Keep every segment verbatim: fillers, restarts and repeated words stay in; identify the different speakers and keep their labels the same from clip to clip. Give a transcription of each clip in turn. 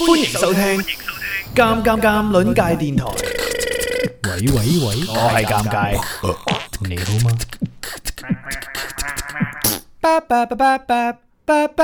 Speaker 1: 歡迎收聽《尷尷尷》鄰界電台。
Speaker 2: 喂喂喂，
Speaker 1: 我係尷尬，
Speaker 2: 你好嗎？
Speaker 1: 巴巴巴巴巴巴巴。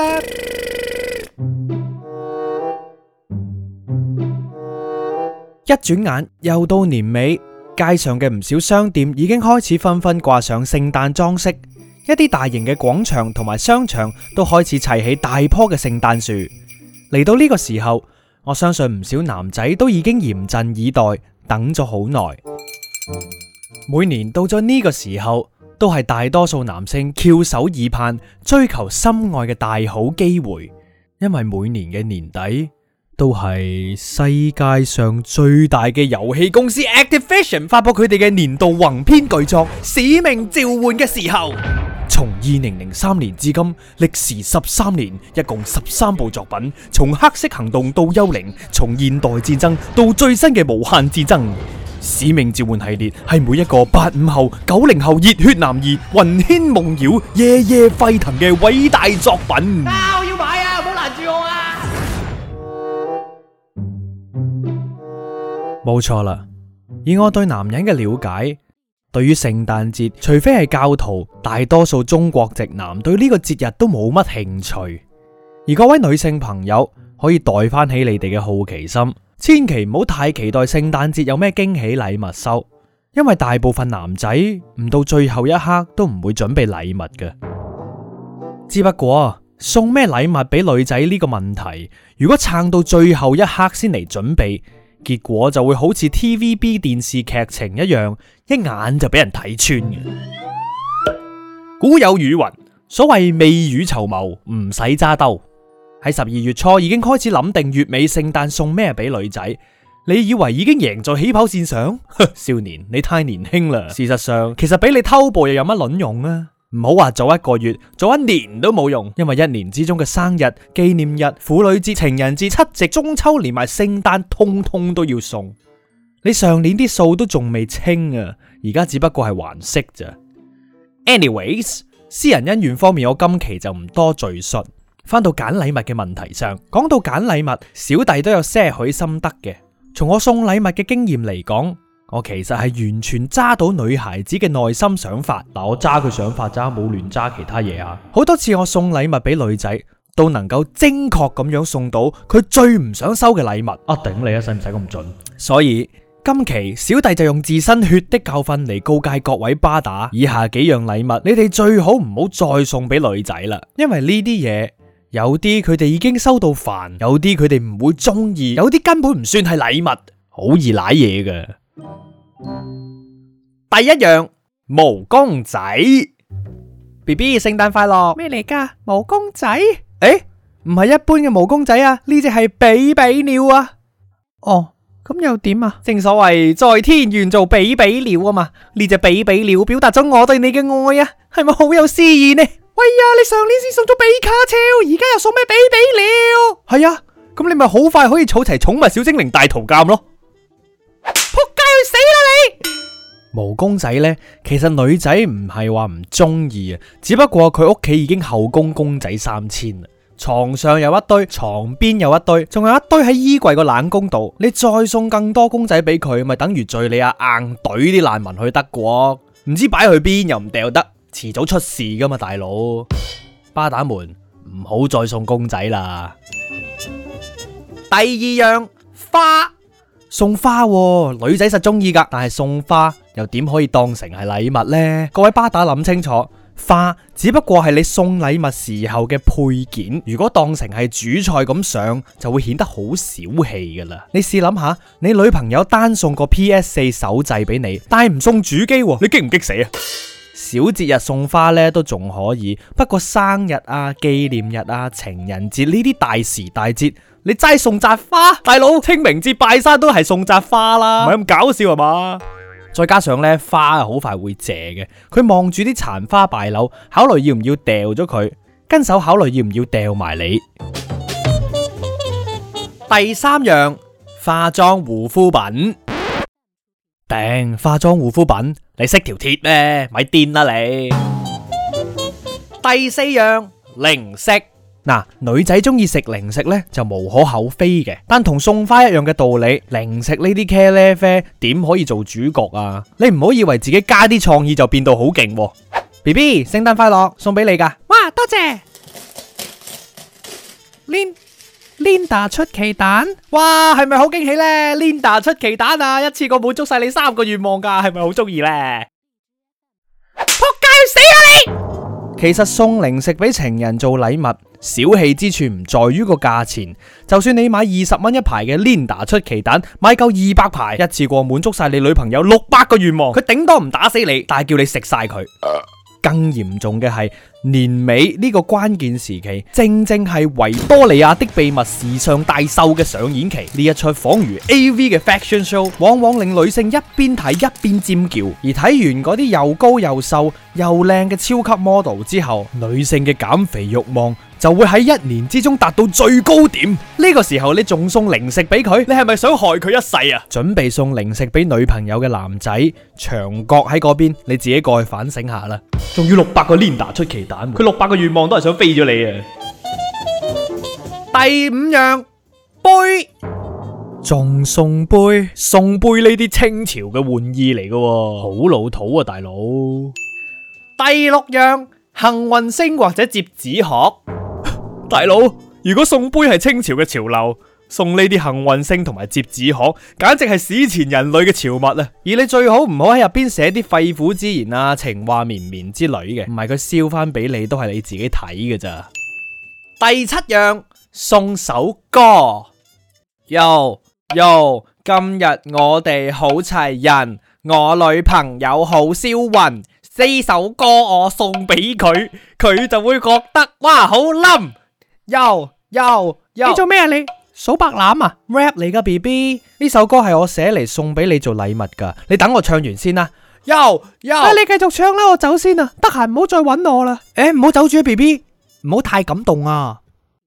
Speaker 1: 一轉眼又到年尾，街上嘅唔少商店已經開始紛紛掛上聖誕裝飾，一啲大型嘅廣場同埋商場都開始砌起大棵嘅聖誕樹。嚟到呢個時候，我相信唔少男仔都已經嚴陣以待，等咗好耐。每年到咗呢個時候，都係大多數男性翹首以盼，追求心愛嘅大好機會，因為每年嘅年底都係世界上最大嘅遊戲公司 Activision 發佈佢哋嘅年度宏篇巨作《使命召喚》嘅時候。從二零零三年至今，歷時十三年，一共十三部作品，從黑色行動到幽靈，從現代戰爭到最新嘅無限戰爭。使命召喚系列係每一個八五後、九零後熱血男兒魂牽夢繞、夜夜沸騰嘅偉大作品。
Speaker 3: 啊！我要買啊！唔好攔住我啊！
Speaker 1: 冇錯啦，以我對男人嘅了解，對於聖誕節，除非係教徒，大多數中國直男對呢個節日都冇乜興趣。而各位女性朋友可以代翻起你哋嘅好奇心，千祈唔好太期待聖誕節有咩驚喜禮物收，因為大部分男仔唔到最後一刻都唔會準備禮物嘅。只不過送咩禮物俾女仔呢個問題，如果撐到最後一刻先嚟準備，結果就會好似 T V B 電視劇情一樣，一眼就俾人睇穿嘅。古有語云，所謂未雨綢繆，唔使揸兜。喺十二月初已經開始諗定月尾聖誕送咩俾女仔，你以為已經贏在起跑線上？少年，你太年輕啦。事實上，其實俾你偷步又有乜卵用啊？唔好話早一個月，早一年都冇用，因為一年之中嘅生日、紀念日、婦女節、情人節、七夕、中秋連埋聖誕，通通都要送。你上年啲數都仲未清啊，而家只不過係還息咋。Anyways， 私人恩怨方面，我今期就唔多贅述。翻到揀禮物嘅問題上，講到揀禮物，小弟都有些許心得嘅。從我送禮物嘅經驗嚟講，我其實係完全揸到女孩子嘅內心想法。嗱，我揸佢想法咋，冇亂揸其他嘢啊。好多次我送禮物俾女仔，都能夠精確咁樣送到佢最唔想收嘅禮物。啊，頂你啊，使唔使咁準？所以今期小弟就用自身血的教訓嚟告誡各位巴打，以下幾樣禮物，你哋最好唔好再送俾女仔啦，因為呢啲嘢有啲佢哋已經收到煩，有啲佢哋唔會中意，有啲根本唔算係禮物，好易舐嘢嘅。第一樣，毛公仔。B B 聖誕快樂。
Speaker 3: 咩嚟噶？毛公仔？
Speaker 1: 誒，唔係一般嘅毛公仔啊，呢隻係比比鳥啊。
Speaker 3: 哦，咁又點啊？
Speaker 1: 正所謂在天願做比比鳥啊嘛，呢隻比比鳥表達咗我對你嘅愛啊，係咪好有詩意呢？喂呀，你上年先送咗比卡超，而家又送咩比比鳥？係啊，咁你咪好快可以儲齊寵物小精靈大圖鑑咯。
Speaker 3: 仆街去死啦你！
Speaker 1: 毛公仔呢，其實女仔唔係話唔中意啊，只不過佢屋企已經後宮公仔三千啦，床上有一堆，床邊有一堆，仲有一堆喺衣櫃個冷宮度。你再送更多公仔俾佢，咪等於敘利亞硬懟啲難民去德國，唔知擺去邊又唔掉得，遲早出事噶嘛，大佬。巴打們唔好再送公仔啦。第二樣，花。送花喎，女仔實中意噶，但係送花又點可以當成係禮物呢？各位巴打諗清楚，花只不過係你送禮物時候嘅配件，如果當成係主菜咁上，就會顯得好小氣噶啦。你試諗下，你女朋友單送個 P S 四 手掣俾你，但係唔送主機喎，你激唔激死啊？小節日送花呢都仲可以，不過生日啊、紀念日啊、情人節呢啲大時大節，你齋送扎花，大佬清明節拜山都係送扎花啦，唔係咁搞笑係嘛？再加上呢，花好快會謝嘅，佢望住啲殘花敗柳，考慮要唔要掉咗佢，跟手考慮要唔要掉埋你。第三樣，化妝護膚品。頂，化妝護膚品，你識條鐵咩？咪癲啦你！第四樣，零食。 嗱，女仔中意食零食呢就無可厚非嘅，但同送花一樣嘅道理，零食呢啲茄喱啡點可以做主角啊？你唔好以為自己加啲創意就變到好勁喎。B B， 聖誕快樂，送俾你噶。
Speaker 3: 哇，多謝。Lin Linda 出奇蛋，
Speaker 1: 哇，係咪好驚喜呢？ Linda 出奇蛋啊，一次過滿足晒你三個願望噶，係咪好中意呢？
Speaker 3: 仆街要死啊你！
Speaker 1: 其實送零食俾情人做禮物，小氣之處唔在於個價錢，就算你買二十蚊一排嘅 Linda 出奇蛋，買夠二百排，一次過滿足晒你女朋友六百個願望，佢頂多唔打死你，但係叫你食晒佢。更嚴重嘅係年尾呢個關鍵時期，正正係維多利亞的秘密時尚大秀嘅上演期。呢一出仿如 A V 嘅 fashion show， 往往令女性一邊睇一邊尖叫。而睇完嗰啲又高又瘦又靚嘅超級 model 之後，女性嘅減肥慾望就會喺一年之中達到最高點。呢個時候你仲送零食俾佢，你係咪想害佢一世啊？準備送零食俾女朋友嘅男仔，牆角喺嗰邊，你自己過去反省下啦。仲要六百個 Linda 出奇蛋，佢六百個願望都係想飛咗你啊！第五樣，杯，仲送杯，送杯呢啲清朝嘅玩意嚟嘅，好老土啊，大佬。第六樣，幸運星或者摺紙殼。大佬，如果送杯係清朝嘅潮流，送呢啲幸運星同埋摺紙殼，簡直係史前人類嘅潮物啊！而你最好唔好喺入邊寫啲肺腑之言啊、情話綿綿之類嘅，唔係佢燒翻俾你都係你自己睇嘅咋。第七樣，送首歌。Yo Yo， 今日我哋好齊人，我女朋友好銷魂，呢首歌我送俾佢，佢就會覺得哇好冧。Yo Yo Yo，
Speaker 3: 你做咩啊你？數白欖啊
Speaker 1: rap 嚟噶 B B， 呢首歌係我寫嚟送俾你做禮物噶，你等我唱完先啦。Yo Yo，
Speaker 3: 啊你繼續唱啦，我走先啊，得閒唔好再搵我啦。
Speaker 1: 誒，唔好走住啊 B B， 唔好太感動啊。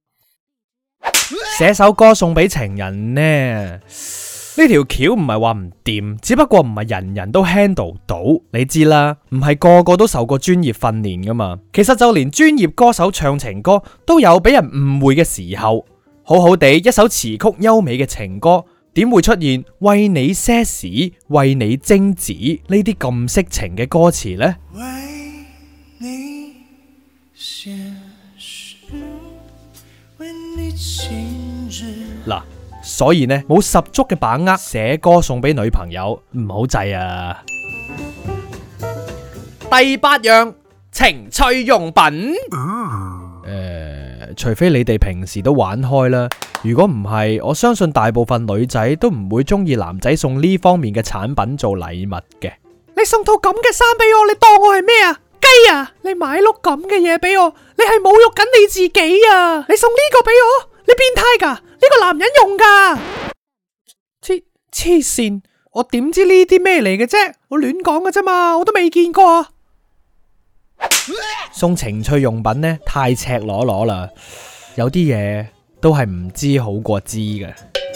Speaker 1: 寫首歌送俾情人呢？呢條橋唔係話唔掂，只不過唔係人人都 handle 到。你知啦，唔係個個都受過專業訓練噶嘛。其實就連專業歌手唱情歌都有俾人誤會嘅時候。好好地一首詞曲優美嘅情歌，點會出現為你些時、為你精子呢啲咁色情嘅歌詞呢？為你些時，為你精子。嗱，所以呢，冇十足嘅把握寫歌送俾女朋友，唔好制啊！第八樣，情趣用品。誒、呃，除非你哋平時都玩開啦，如果唔係，我相信大部分女仔都唔會中意男仔送呢方面嘅產品做禮物嘅。
Speaker 3: 你送套咁嘅衫俾我，你當我係咩啊？雞啊！你買碌咁嘅嘢俾我，你係侮辱緊你自己啊！你送呢個俾我，你變態噶？呢個男人用噶？黐黐線！我點知呢啲咩嚟嘅啫？我亂講嘅啫嘛，我都未見過啊！
Speaker 1: 送情趣用品呢，太赤裸裸啦，有啲嘢都係唔知好過知嘅。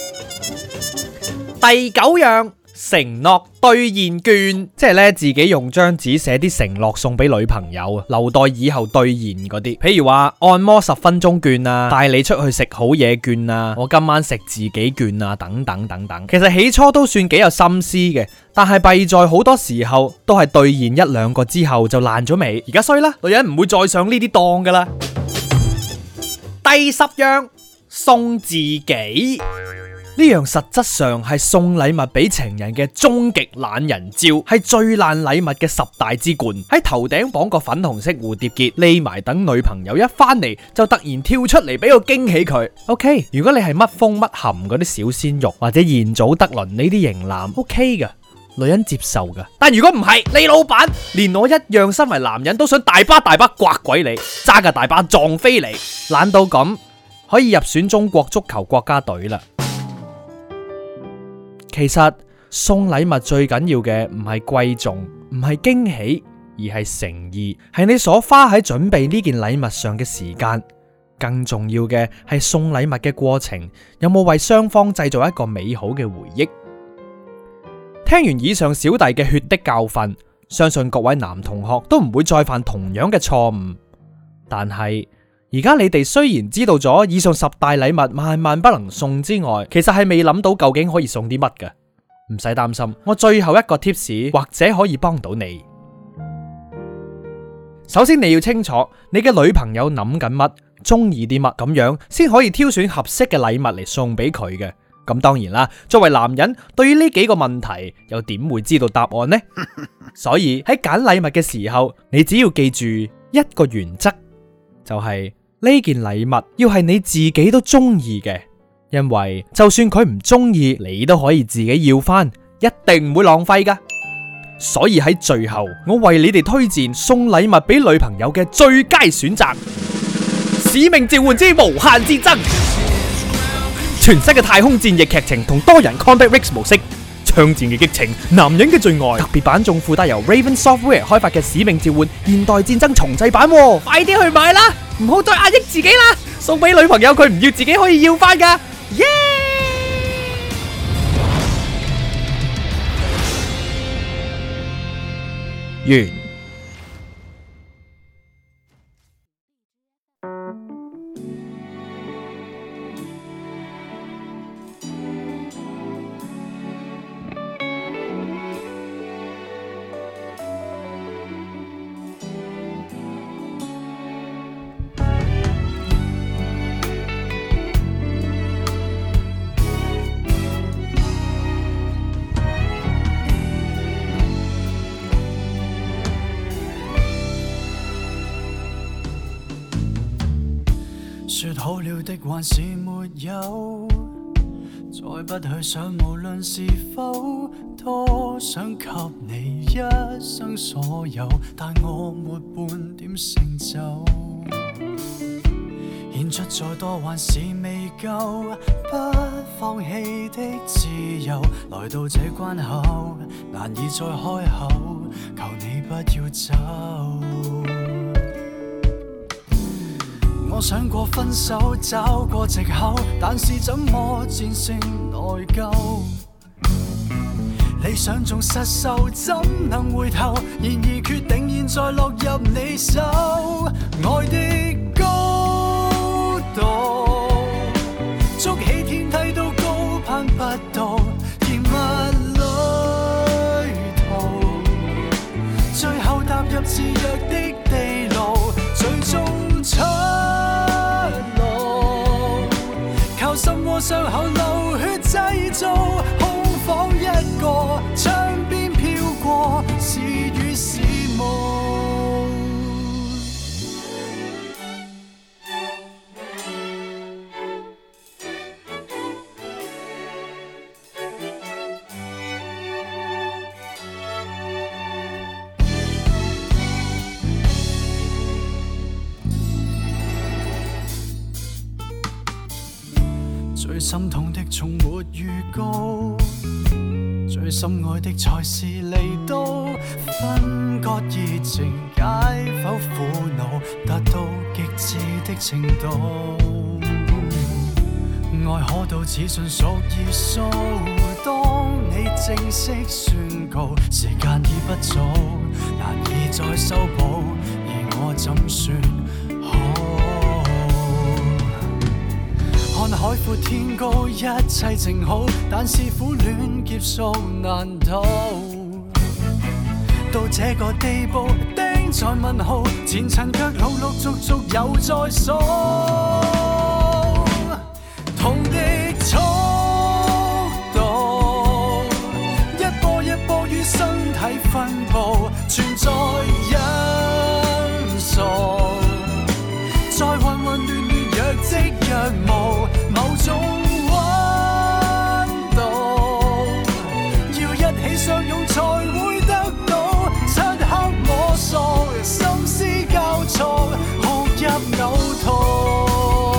Speaker 1: 第九樣，承諾兌現券，即係咧自己用張紙寫啲承諾送俾女朋友，留待以後兌現嗰啲，譬如話按摩十分鐘券啊，帶你出去食好嘢券啊，我今晚食自己券啊，等等等等。其實起初都算幾有心思嘅，但係弊在好多時候都係兌現一兩個之後就爛咗尾。而家衰啦，女人唔會再上呢啲當噶啦。第十樣，送自己。呢樣實質上係送禮物俾情人嘅終極懶人招，係最爛禮物嘅十大之冠。喺頭頂綁個粉紅色蝴蝶結，匿埋等女朋友一翻嚟就突然跳出嚟俾個驚喜佢。OK， 如果你係乜風乜含嗰啲小鮮肉或者賢祖德倫呢啲型男 ，OK 噶，女人接受噶。但如果唔係，你老闆連我一樣身為男人都想大巴大巴刮鬼你，揸架大巴撞飛你，懶到咁可以入選中國足球國家隊啦。其實送禮物最緊要嘅唔係貴重，唔係驚喜，而係誠意，係你所花喺準備呢件禮物上嘅時間。更重要嘅係送禮物嘅過程，有冇為雙方製造一個美好嘅回憶。聽完以上小弟嘅血的教訓，相信各位男同學都唔會再犯同樣嘅錯誤。但係而家你哋雖然知道咗以上十大禮物萬萬不能送之外，其實係未諗到究竟可以送啲乜㗎。唔使擔心，我最後一個 tips 或者可以幫到你。首先你要清楚你嘅女朋友諗緊乜，中意啲乜，咁樣先可以挑選合適嘅禮物嚟送俾佢嘅。咁當然啦，作為男人，對於呢幾個問題又點會知道答案呢？所以喺揀禮物嘅時候，你只要記住一個原則，就係呢件禮物要係你自己都中意嘅，因為就算佢唔中意，你都可以自己要翻，一定唔會浪費噶。所以喺最後，我為你哋推薦送禮物俾女朋友嘅最佳選擇——使命召喚之無限戰爭。全新嘅太空戰役劇情同多人 Combat Rigs 模式，槍戰嘅激情，男人嘅最愛。特別版仲附帶由 Raven Software 開發嘅使命召喚現代戰爭重製版，快啲去買啦！唔好再壓抑自己啦，送俾女朋友佢唔要自己可以要翻噶，耶！完。
Speaker 4: 說好了的還是沒有，再不去想無論是否，多想給你一生所有，但我沒半點成就，獻出再多還是未夠，不放棄的自由，來到這關口，難以再開口，求你不要走。我想過分手，找過藉口，但是怎麼戰勝內疚？理想中失手，怎能回頭？然而決定現在落入你手，愛的高度，築起天梯都高攀不到，甜蜜旅途，最後踏入自虐的地路，最終出路，靠心窩傷口流血製造，空房一個，窗邊飄過是與是夢。最心痛的從沒預告，最深愛的才是離島，分割熱情，解剖苦惱，達到極致的程度。愛可到此盡屬於數，當你正式宣告，時間已不早，難以再修補，而我怎算好？看海闊天高，一切靜好，但是苦戀劫數難逃。到這個地步，釘在問號，前塵卻陸陸續續又再數。痛的速度，一波一波於身體分佈，存在因素，在混混亂亂若即若無，某種溫度，要一起相擁才會得到。漆黑摸索，心思交錯，哭泣嘔吐。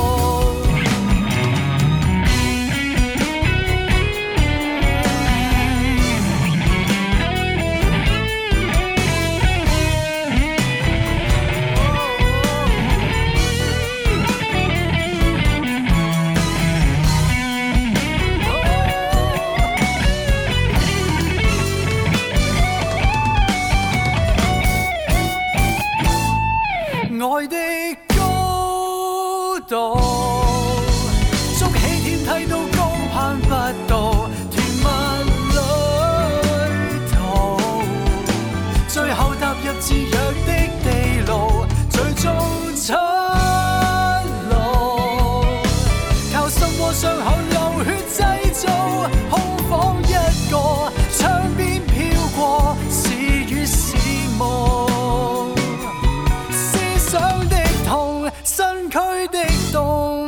Speaker 4: 後流血製造空房一個，窗邊飄過是與是夢，思想的痛，身軀的凍，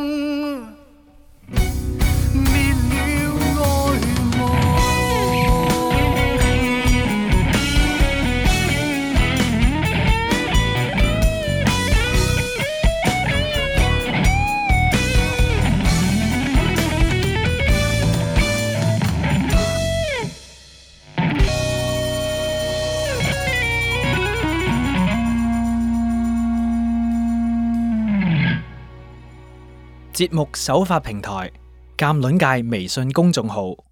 Speaker 4: 滅了愛夢。
Speaker 1: 節目首發平台：鑑論界微信公眾號。